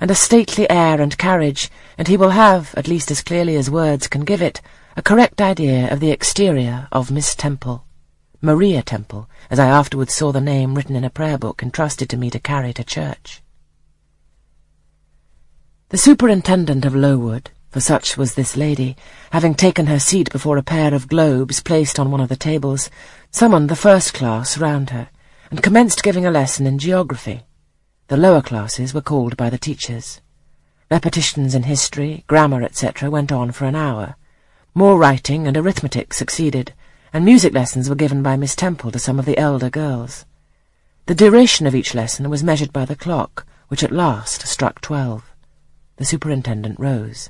and a stately air and carriage, and he will have, at least as clearly as words can give it, a correct idea of the exterior of Miss Temple. Maria Temple, as I afterwards saw the name written in a prayer book entrusted to me to carry to church. The superintendent of Lowood, for such was this lady, having taken her seat before a pair of globes placed on one of the tables, summoned the first class round her, and commenced giving a lesson in geography. The lower classes were called by the teachers. Repetitions in history, grammar, etc. went on for an hour. More writing and arithmetic succeeded, and music lessons were given by Miss Temple to some of the elder girls. The duration of each lesson was measured by the clock, which at last struck 12. The superintendent rose.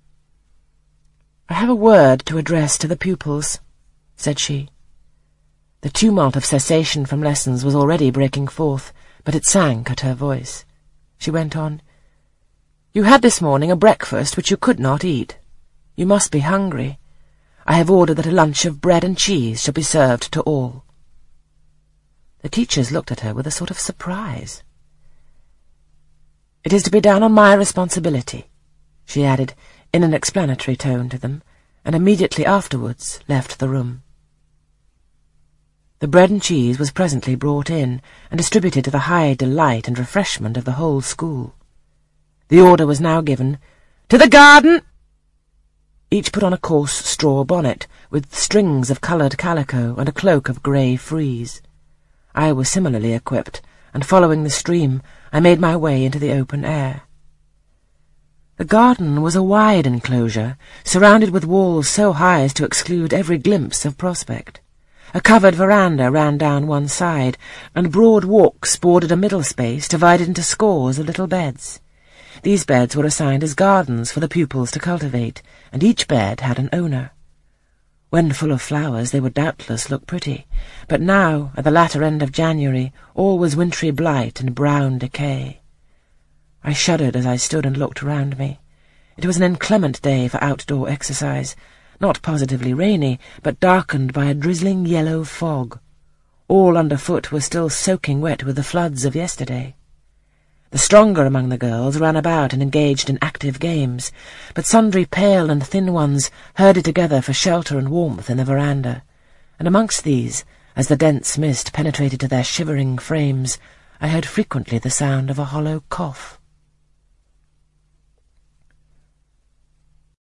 "I have a word to address to the pupils," said she. The tumult of cessation from lessons was already breaking forth, but it sank at her voice. She went on, "You had this morning a breakfast which you could not eat. You must be hungry. I have ordered that a lunch of bread and cheese shall be served to all." The teachers looked at her with a sort of surprise. "It is to be done on my responsibility," she added, in an explanatory tone to them, and immediately afterwards left the room. The bread and cheese was presently brought in, and distributed to the high delight and refreshment of the whole school. The order was now given, "To the garden!" Each put on a coarse straw bonnet, with strings of coloured calico and a cloak of grey frieze. I was similarly equipped, and following the stream, I made my way into the open air. The garden was a wide enclosure, surrounded with walls so high as to exclude every glimpse of prospect. A covered veranda ran down one side, and broad walks bordered a middle space divided into scores of little beds. These beds were assigned as gardens for the pupils to cultivate, and each bed had an owner. When full of flowers they would doubtless look pretty, but now, at the latter end of January, all was wintry blight and brown decay. I shuddered as I stood and looked round me. It was an inclement day for outdoor exercise, not positively rainy, but darkened by a drizzling yellow fog. All underfoot was still soaking wet with the floods of yesterday. The stronger among the girls ran about and engaged in active games, but sundry pale and thin ones herded together for shelter and warmth in the veranda, and amongst these, as the dense mist penetrated to their shivering frames, I heard frequently the sound of a hollow cough.